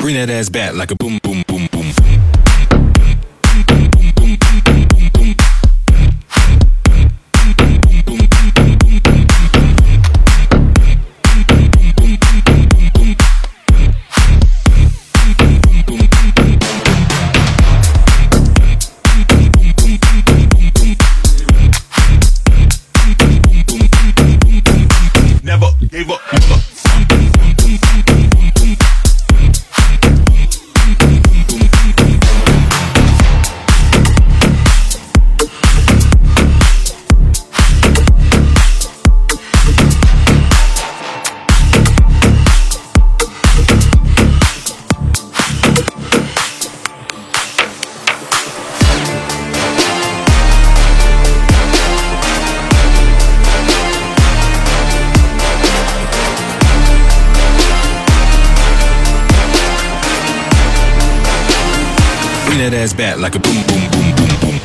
Bring that ass back like a boom, boom, boom, boom. Never gave up. Bring that ass back like a boom, boom, boom, boom, boom.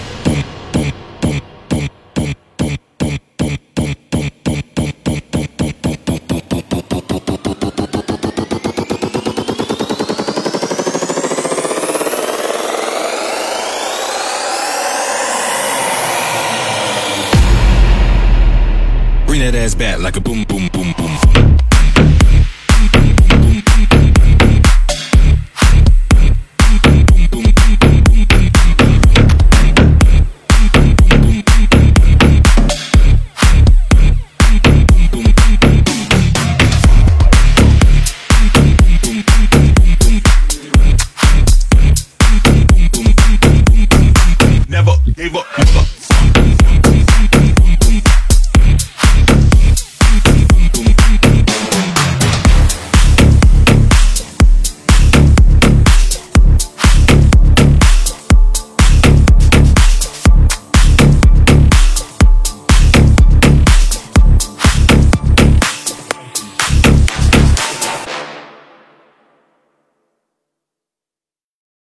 Bring that ass back like a boom, boom.